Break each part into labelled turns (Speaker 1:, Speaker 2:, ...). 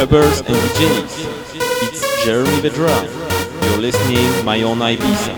Speaker 1: clubbers and DJs. It's Jeremy Vedra. You're listening My Own Ibiza.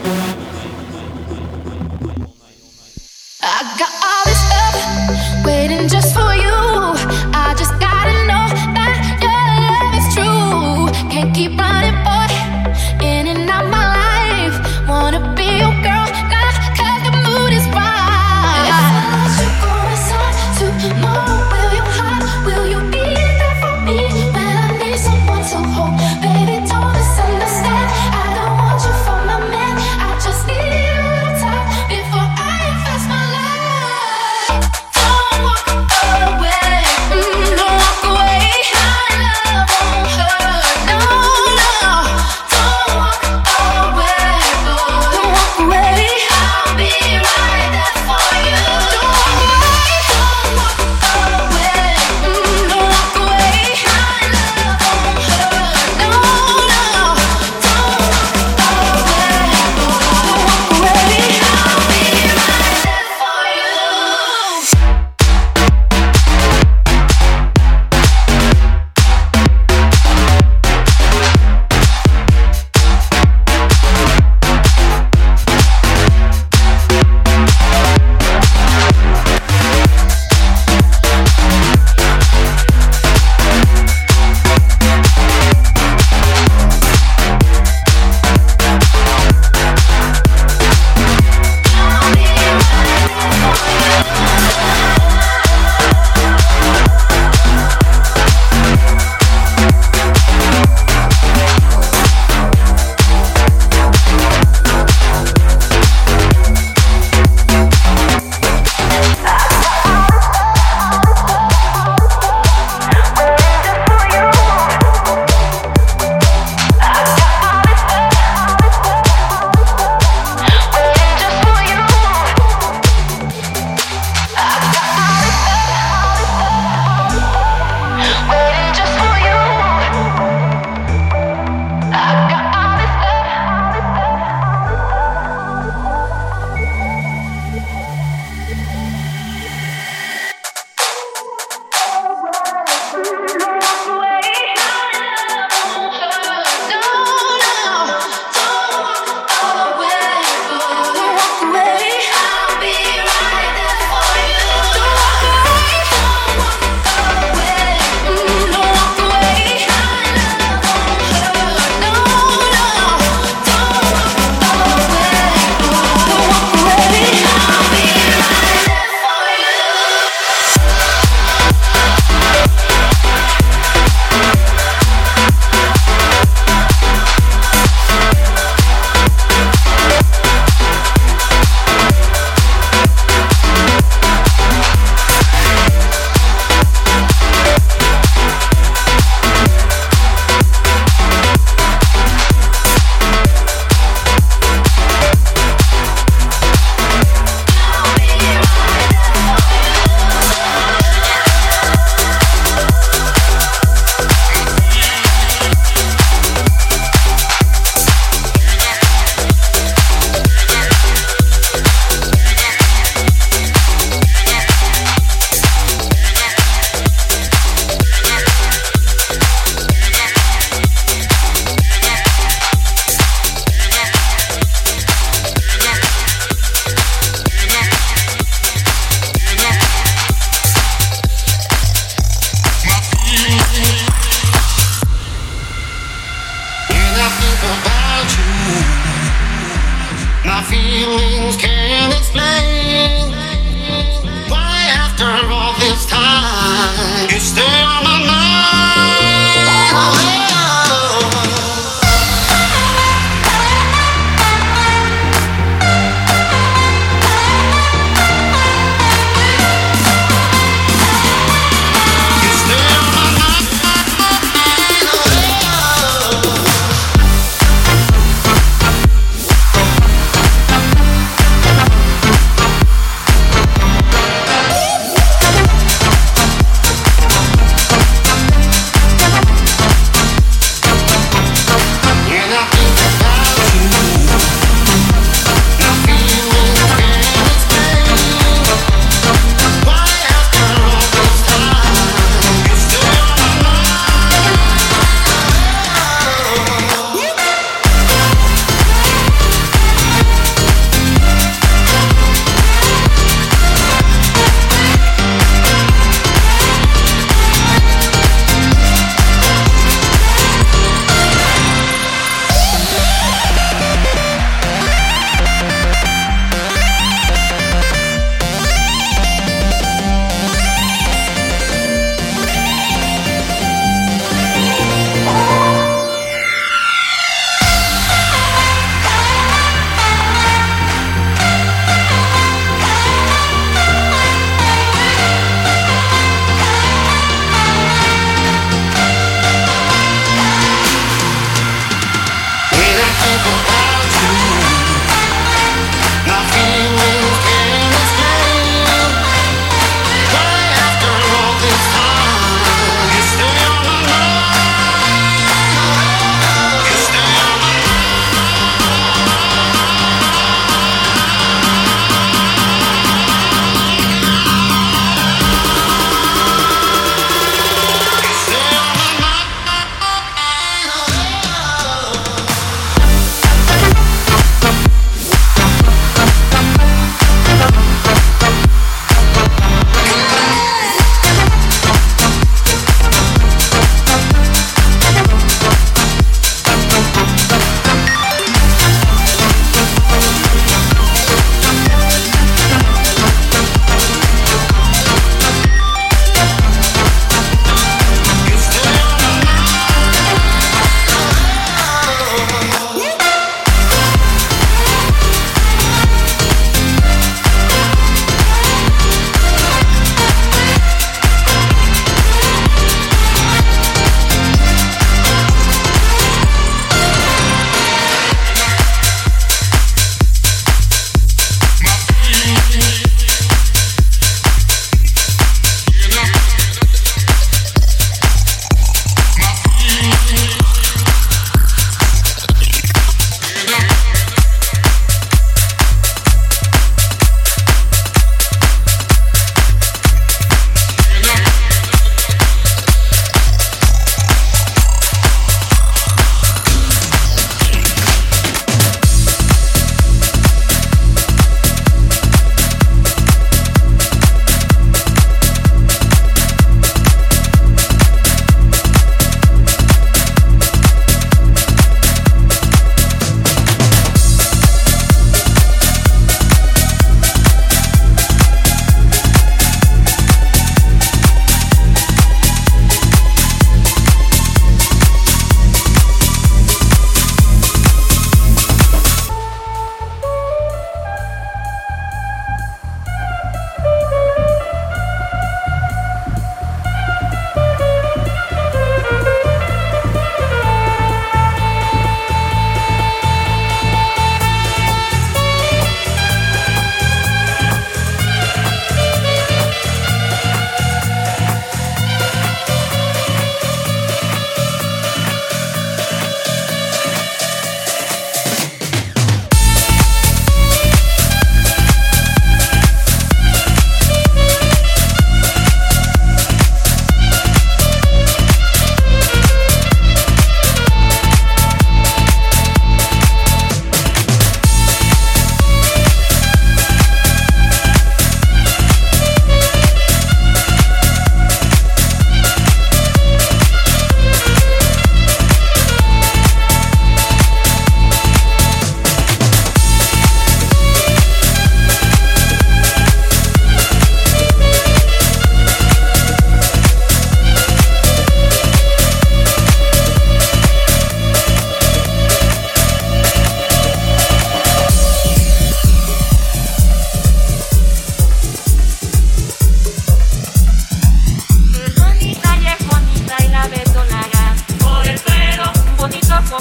Speaker 2: I got all this love waiting just for you. I just gotta know that your love is true. Can't keep running, boy, in and out my life. Wanna be your girl now, 'cause the mood is right. If I let you go inside tomorrow, will you hide? Will you be there for me when I need someone to hold? Baby, don't misunderstand. I don't want you for my man. I just need a little time before I invest my life. Don't walk away, don't walk away. My love won't hurt, no, no. Don't walk away, don't walk away. I'll be right there for you. Don't walk away, don't walk away, don't walk away. My love won't hurt, no, no. Don't walk away, don't walk away. I'll be right there for you.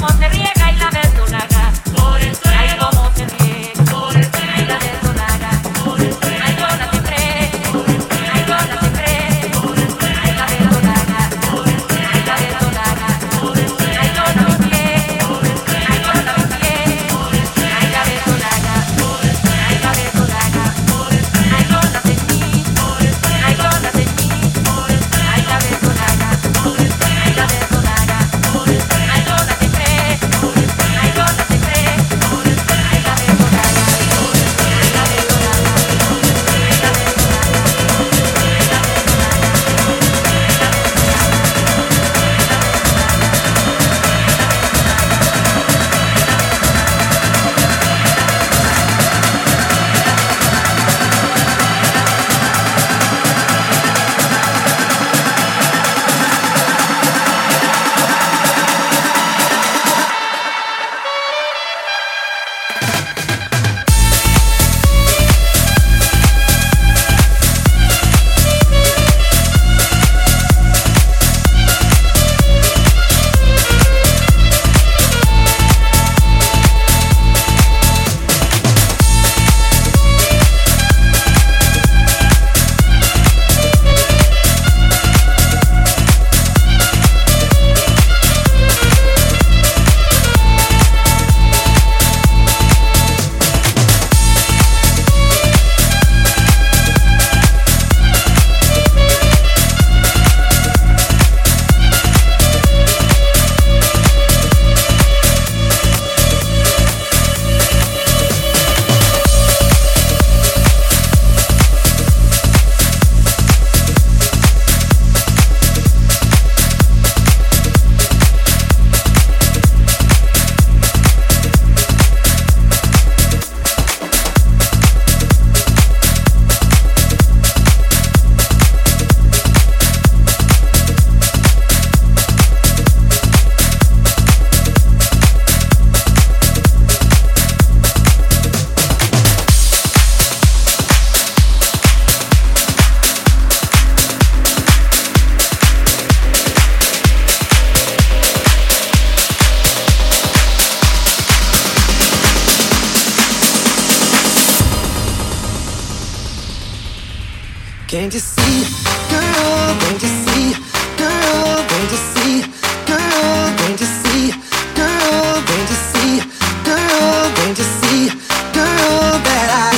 Speaker 3: Can't you see, girl, can't you see, girl, can't you see, girl, can't you see, girl, can't you see, girl, can't you see, girl, that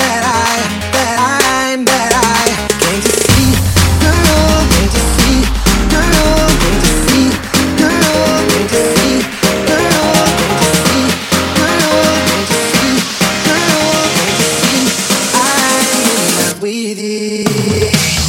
Speaker 3: can't you see, girl, can't you see, girl, can't you see, girl, can't you see, girl, can't you see, girl, can't you see, girl, can't you see, I'm in love with you.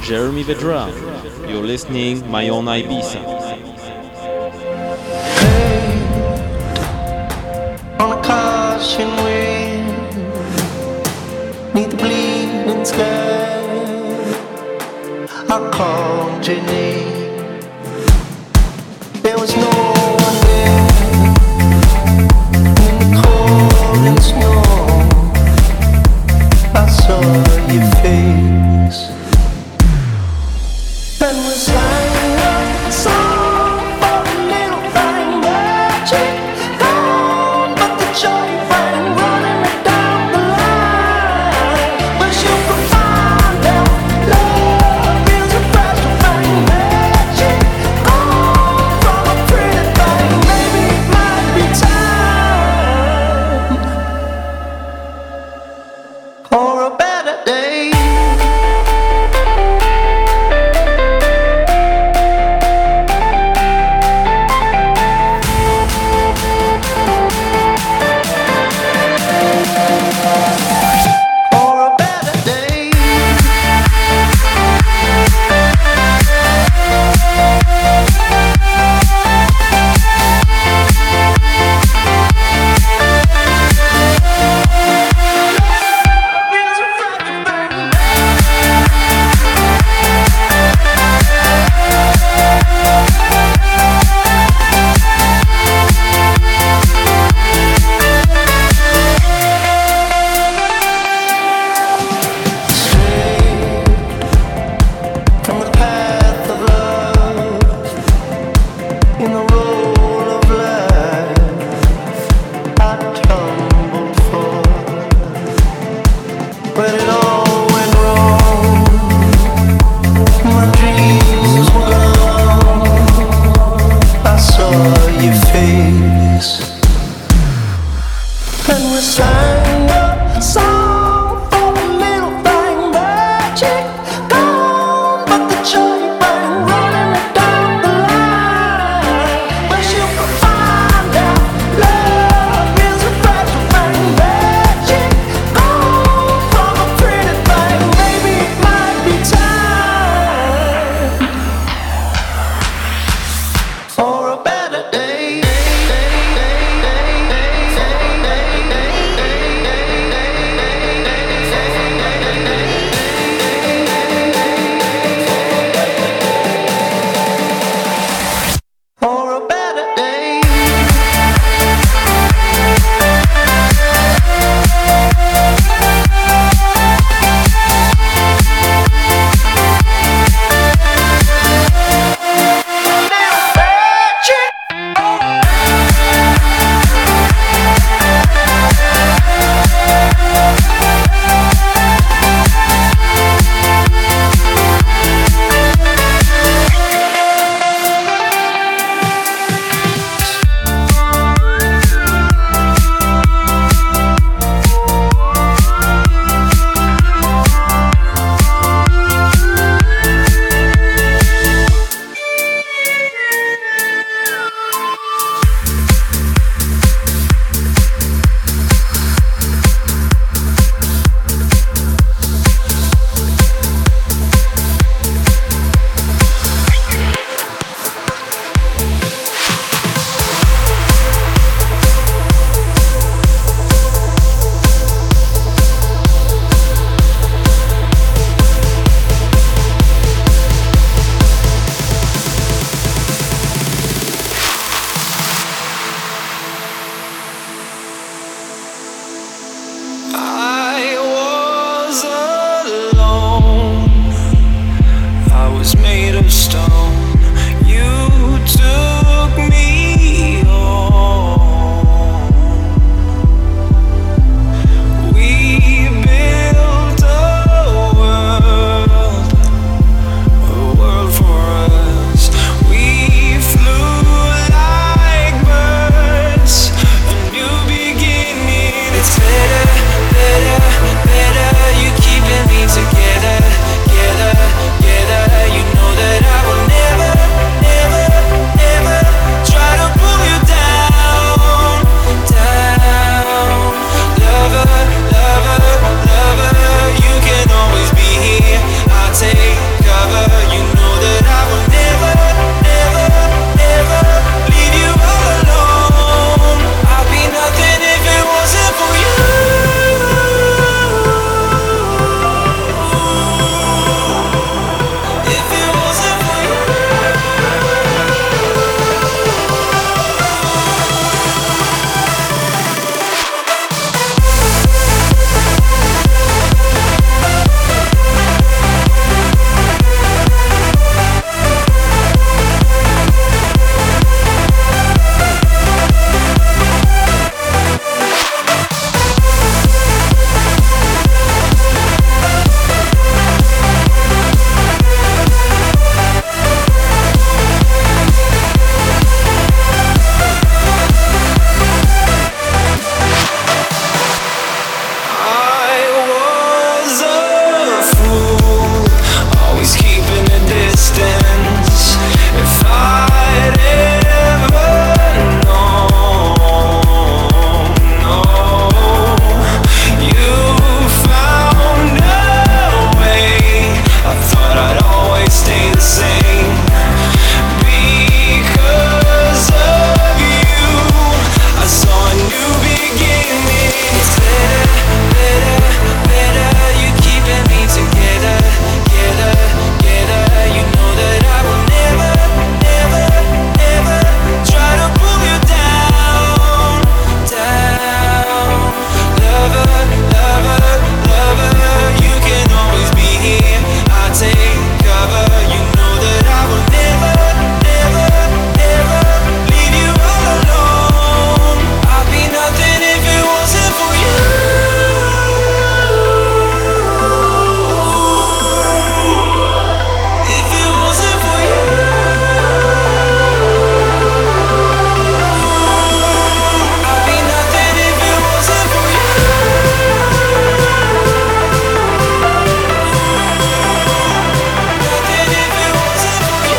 Speaker 1: Jeremy Vedra. You're listening My Own Ibiza.
Speaker 4: Hey, on a caution wind, neath the bleeding sky, I called your name. There was no one there in the cold and snow. I saw your face and was lying up song for a little fine magic gone, but the joy rang running down the line. But you could find out love is a fragile fine magic gone from a pretty thing. Maybe it might be time for a better day.
Speaker 5: stay the same. Because of you, I saw a new beginning. It's better, you're keeping me together, together. You know that I will never, never, never try to pull you down. Lover, you can always be here. I'll take cover. You know that I will never, never, never leave you all alone. I'd be nothing if it wasn't for you. If it wasn't for you, I'd be nothing if it wasn't for you. Nothing if it wasn't for you.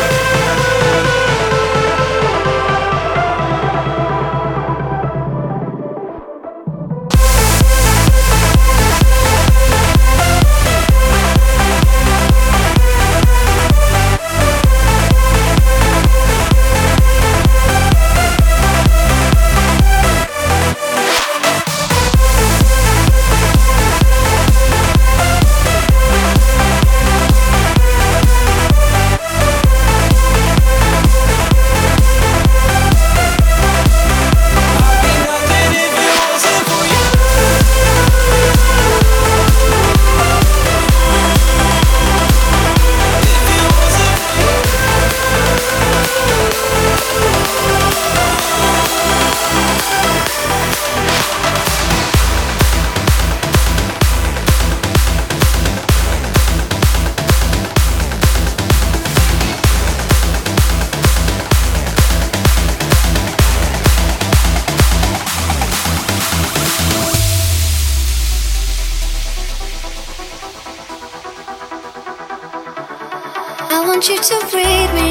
Speaker 2: I want you to breathe me.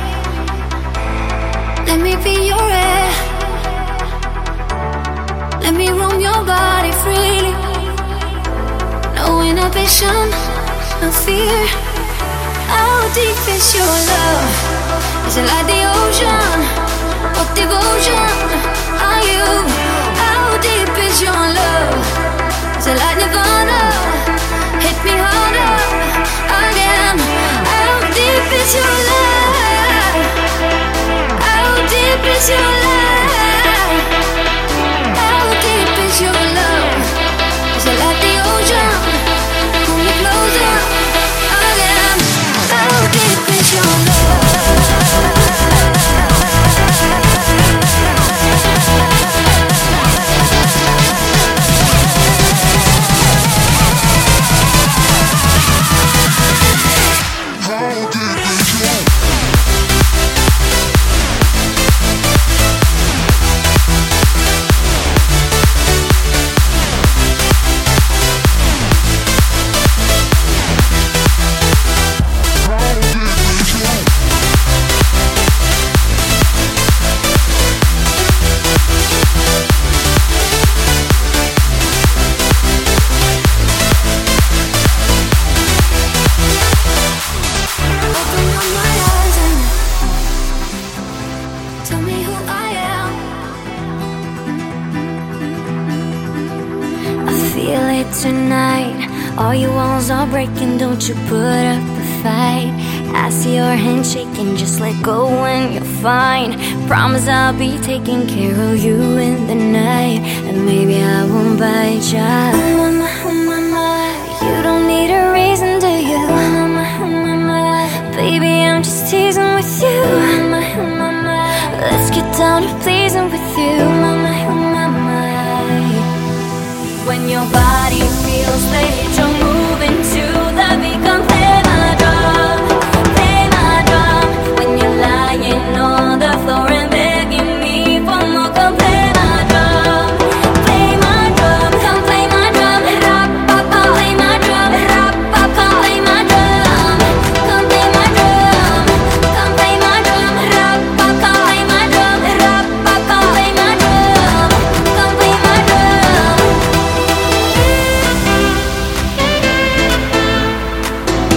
Speaker 2: Let me be your air. Let me roam your body freely. No inhibition, no fear. How deep is your love? Is it like the ocean? What devotion are you? How deep is your love? Is it like Nirvana? Hit me harder again. How deep is your love? How deep is your love? How deep is your love? Is it like the ocean? Pull me closer again. How deep is your love? Open up my eyes and tell me who I am. I feel it tonight. All your walls are breaking, don't you put up a fight. I see your hand shaking, just let go when you're fine. Promise I'll be taking care of you in the night. And maybe I won't bite ya. You don't need a reason, do you? Baby, I'm just teasing with you. Let's get down to pleasing with you. When your body feels that you're moving to the beat, come play my drum, play my drum. When you're lying on the floor and begging me for more, come play my drum, play my drum. Come play my drum, play my drum, come play my drum, come play my drum, come play my drum, come play my drum, come play my drum, come play my drum.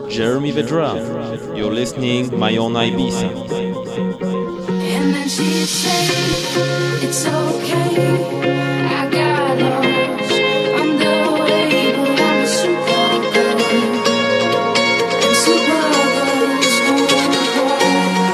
Speaker 1: Jeremy Vedra. You're listening My Own Ibiza.
Speaker 2: And then she said, it's okay. I got lost on the way, but I'm a supergirl. And supergirls don't cry.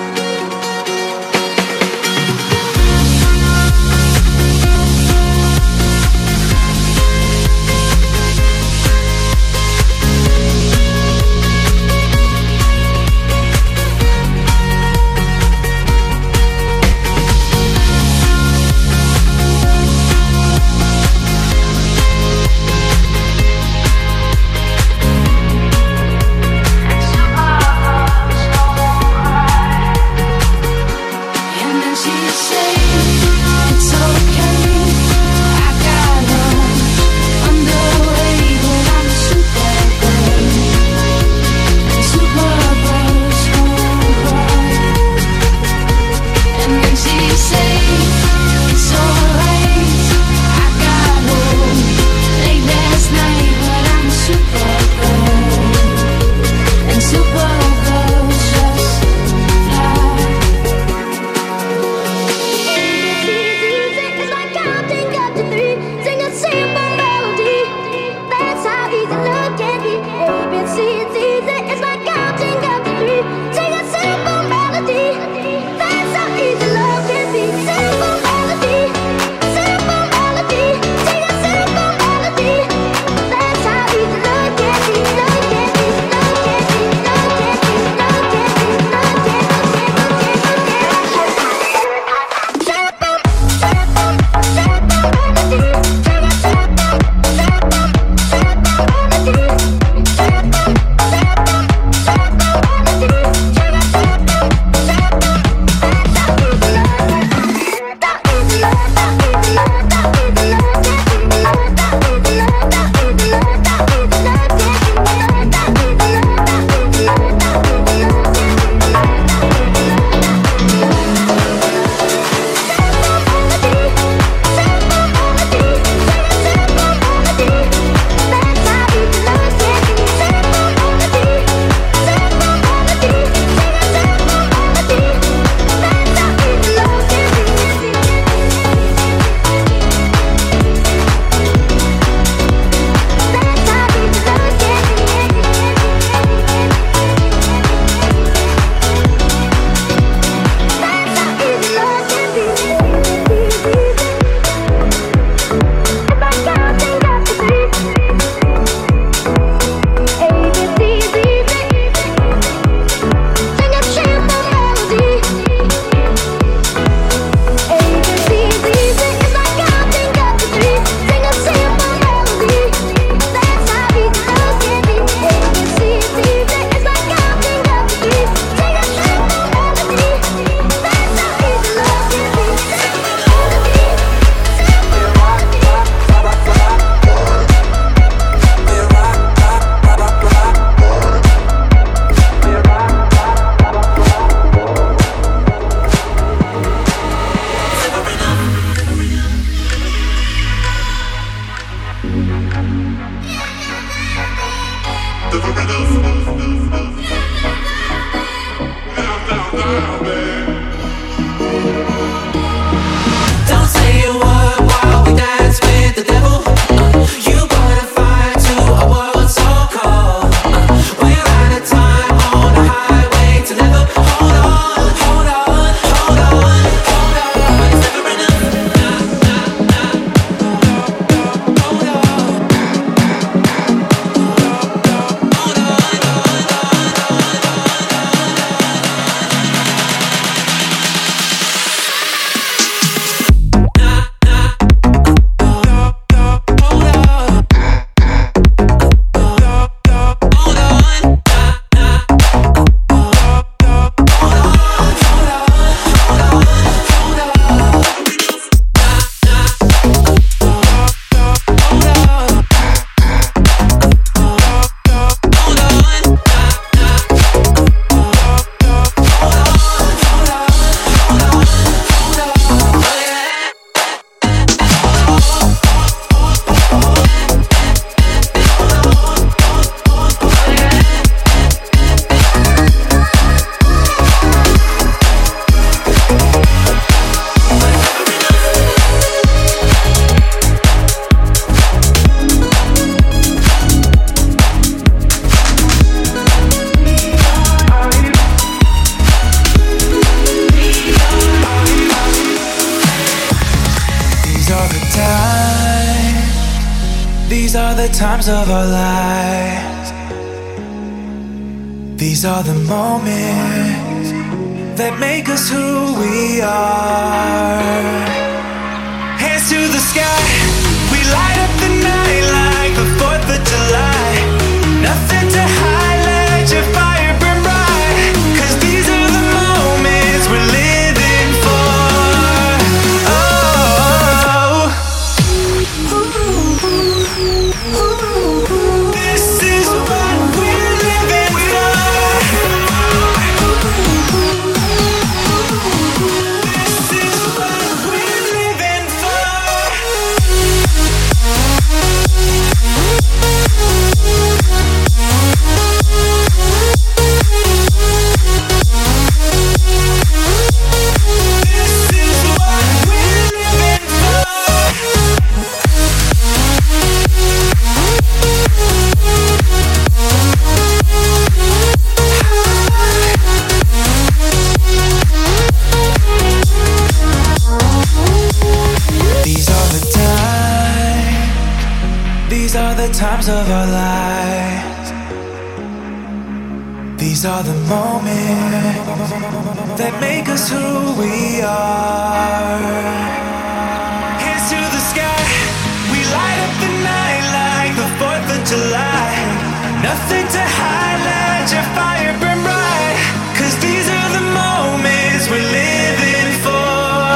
Speaker 2: And then she said, it's okay. I got lost on the way, but I'm a supergirl. And supergirls don't cry. And then she said, it's alright. I got home late last night, but I'm a supergirl. And supergirls just fly. It's like counting up to three. Sing a simple melody. That's how easy love can be. ABC, it's easy. It's like counting up to three. Sing a simple melody. That's how easy love can be. Simple melody. Simple melody. Sing a simple melody. That's how easy love can be. Love can be. Love can be. Love can be. Love can be. Love can
Speaker 5: Don't say a word while we dance with the devil. You gotta fight to a world so cold. We're out of time on the highway to never. Hold on, hold on, hold on, hold on. It's never enough. Hold on. Hold on, hold on, hold on. the times of our lives. These are the moments that make us who we are. Hands to the sky, we light up the night like the 4th of July. Nothing to hide, let your fire burn bright. 'Cause these are the moments we're living for. Oh, this is what we're living for. This is what we're living for. Times of our lives. These are the moments that make us who we are. Hands to the sky, we light up the night like the 4th of July. Nothing to hide, let your fire burn bright. 'Cause these are the moments we're living for.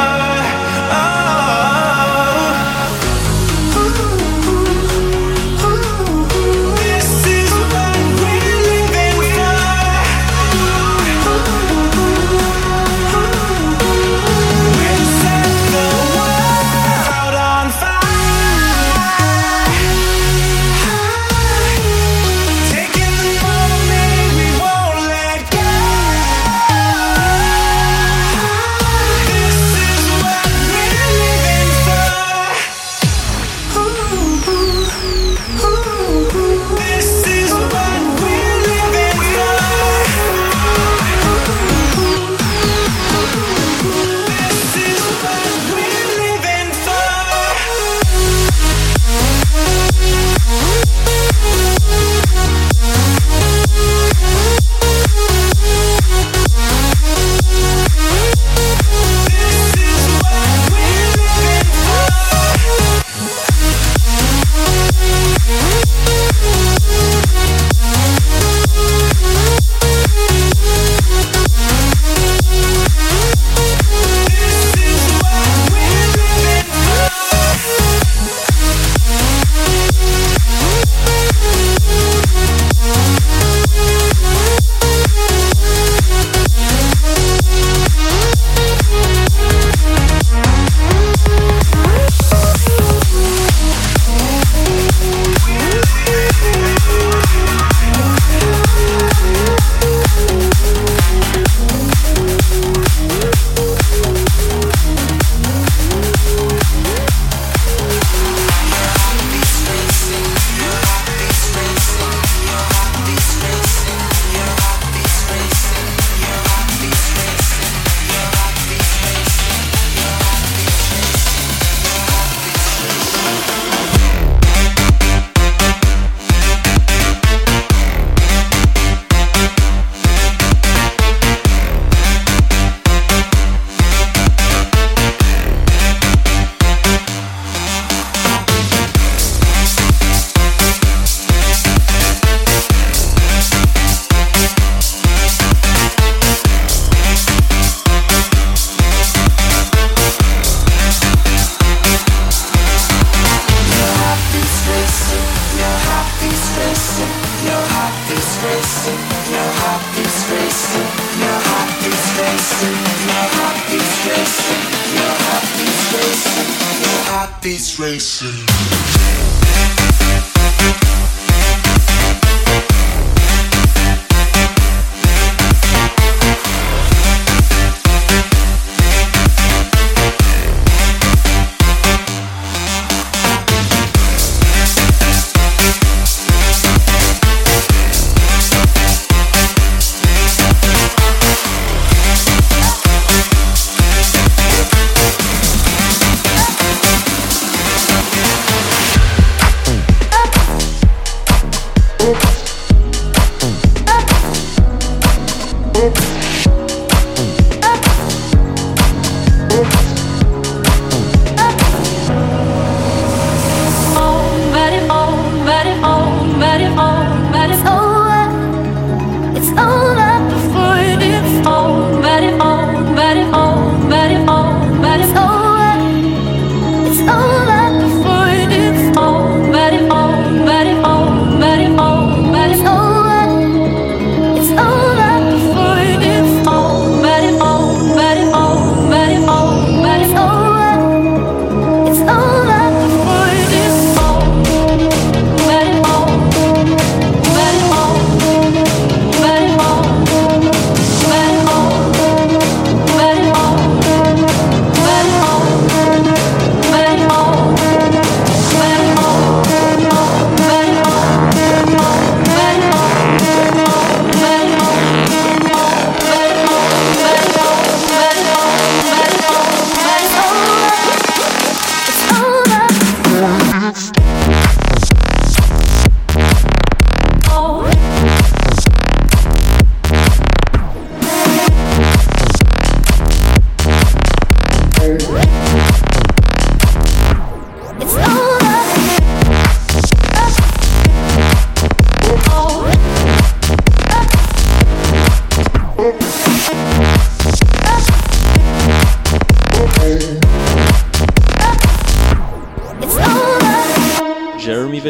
Speaker 6: Beats racing.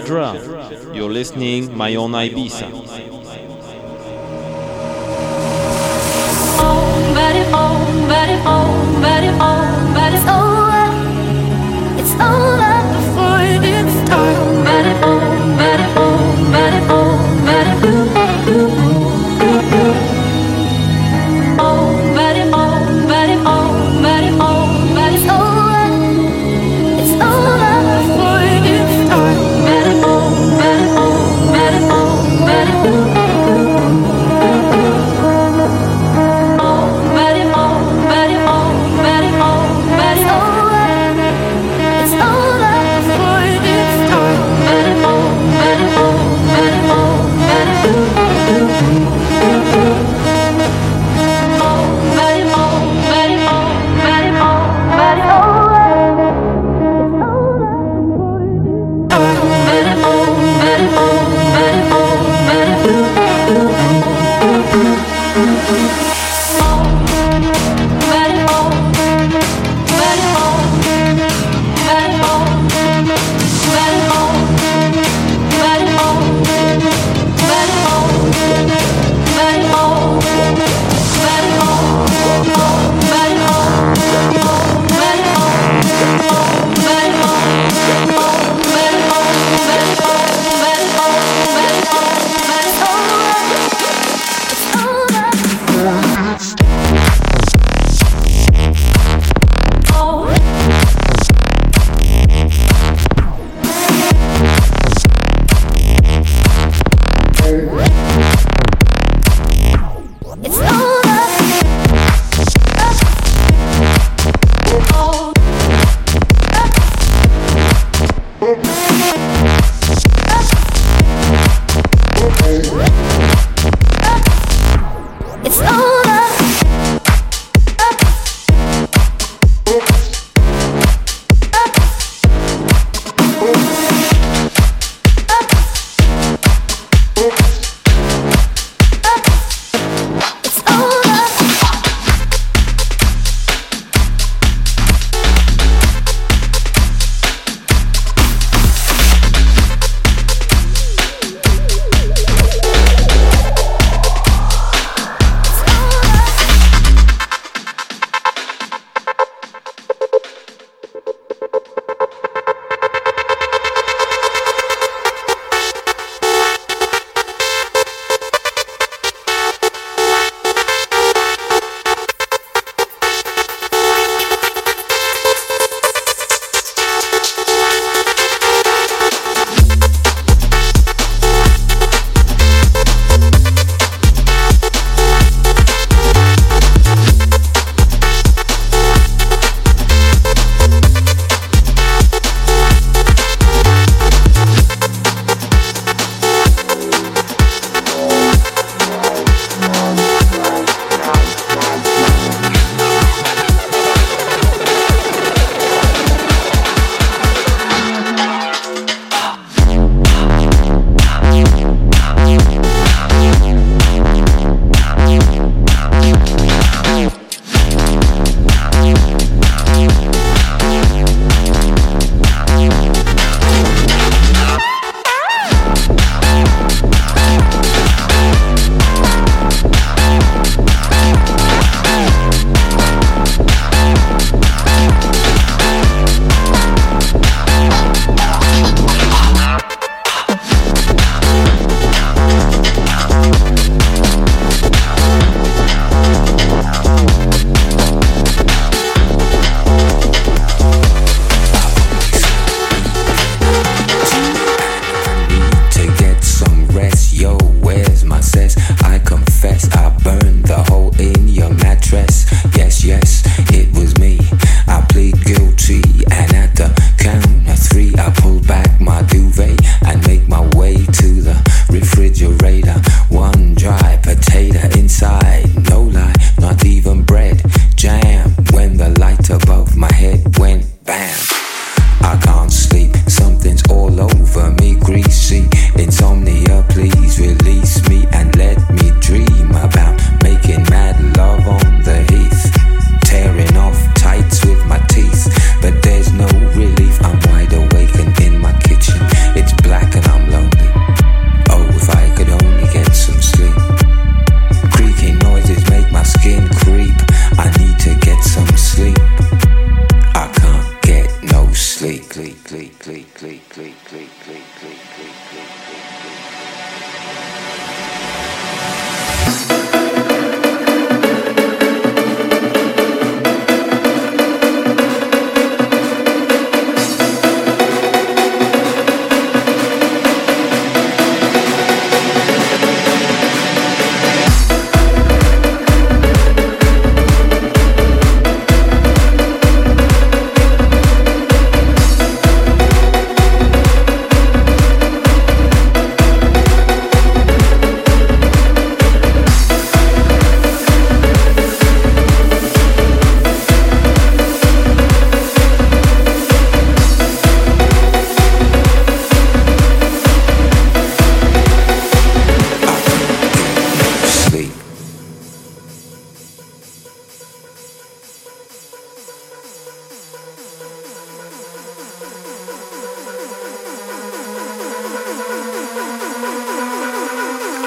Speaker 1: Vedra. You're listening My Own Ibiza.
Speaker 2: It's over. It's over before it's done. Let it all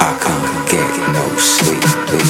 Speaker 3: I can't get no sleep.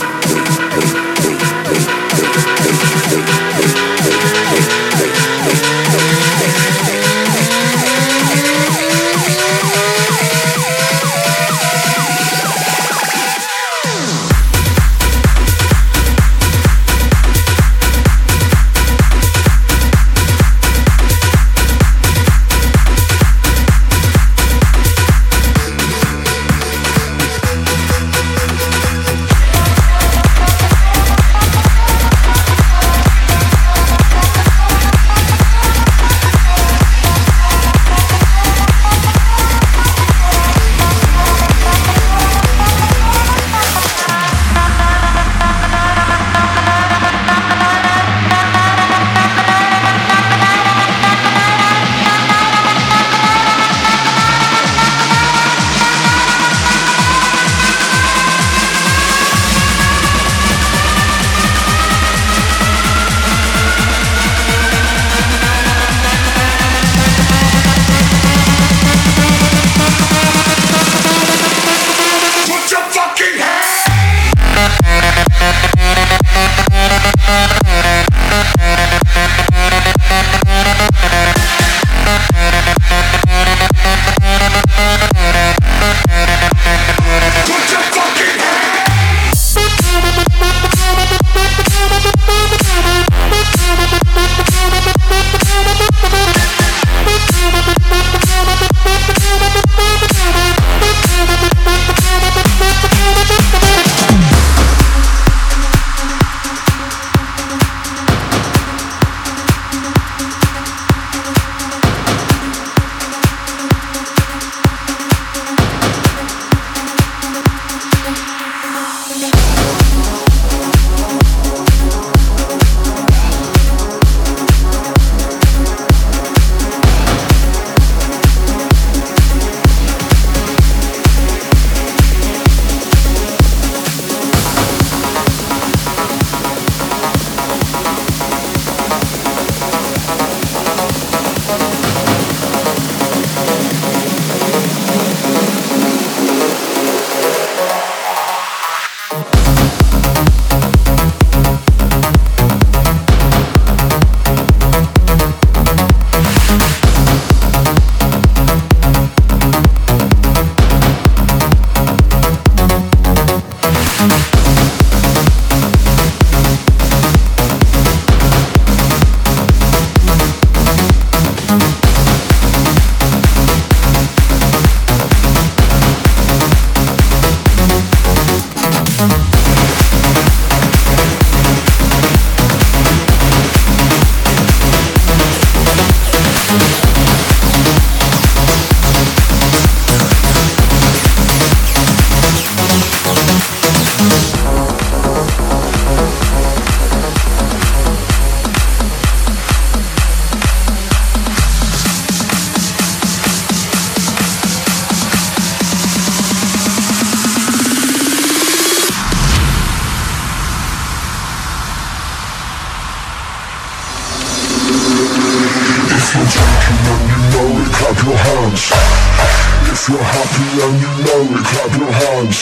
Speaker 6: If you're happy and you know it, clap your hands.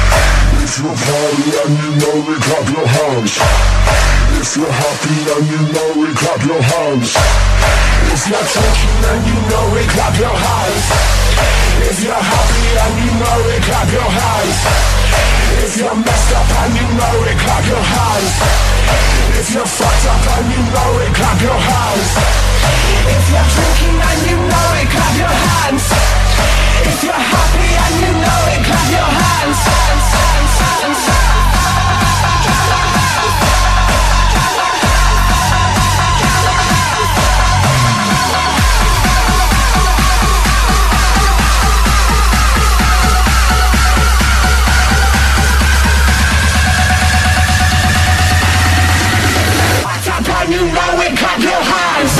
Speaker 6: If you're party and you know it, clap your hands. If you're happy and you know it, clap your hands. If you're talking and you know it, clap your hands. If you're happy and you know it, clap your hands. If you're messed up and you know it, clap your hands. If you're fucked up and you know it, clap your hands. If you're drinking and you know it, clap your hands. If you're happy and you know it, clap your hands. And you know it, clap your hands.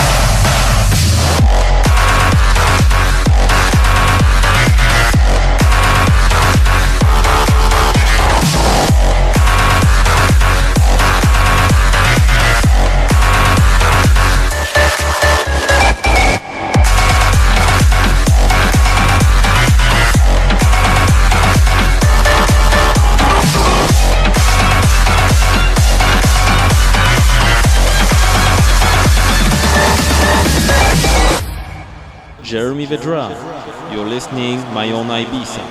Speaker 1: Jeremy Vedra. You're listening My Own Ibiza.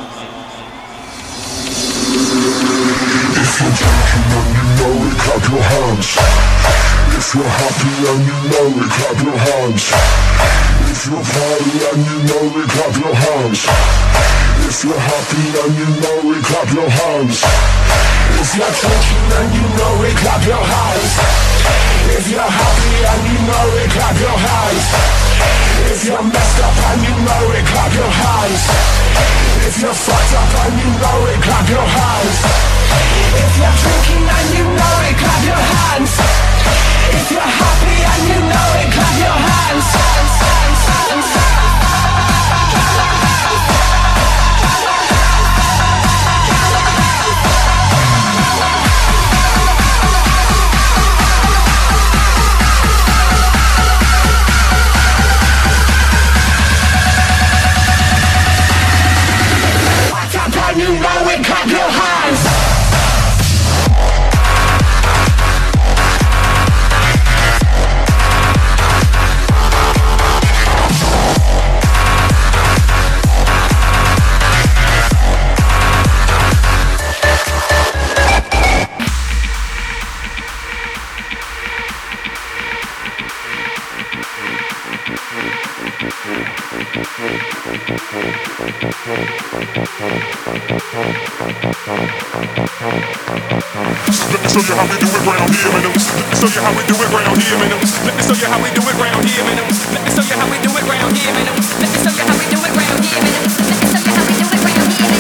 Speaker 6: If you're drinking and you know it, clap your hands. If you're happy and you know it, clap your hands. If you're party and you know it, clap your hands. If you're happy and you know it, clap your hands. If you're drinking and you know it, clap your hands. If you're happy and you know it, clap your hands. If you're messed up and you know it, clap your hands. If you're fucked up and you know it, clap your hands. If you're drinking and you know it, clap your hands. If you're happy and you know it, clap your hands. You know it, clap your hands.
Speaker 7: Let me show you how we do it round here, man. Let me show you how we do it round here, man. Let me show you how we do it round here, man. Let me show you how we do it round here, man. Let me show you how we do it round here, man. Let me show you how we do it round here,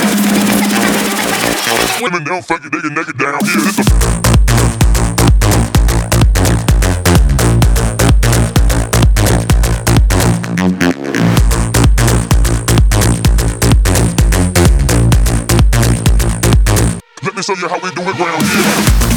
Speaker 7: man.
Speaker 6: Women don't fuck it, they get naked down here. Let me show you how we do it round here.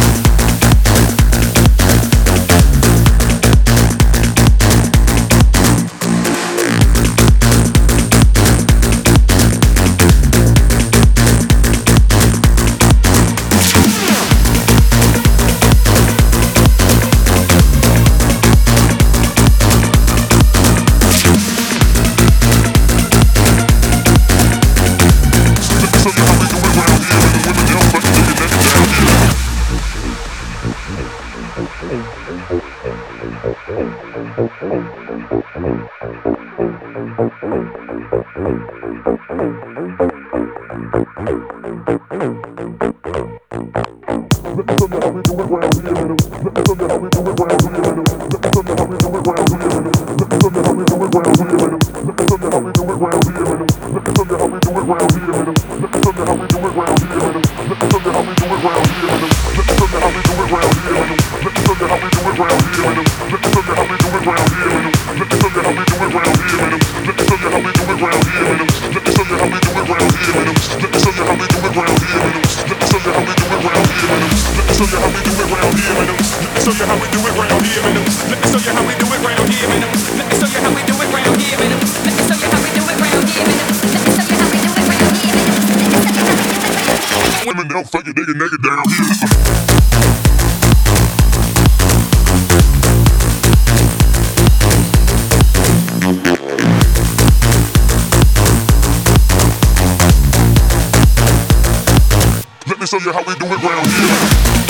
Speaker 6: Women don't fuck it, they get naked down here. Let me show you how we do it round here.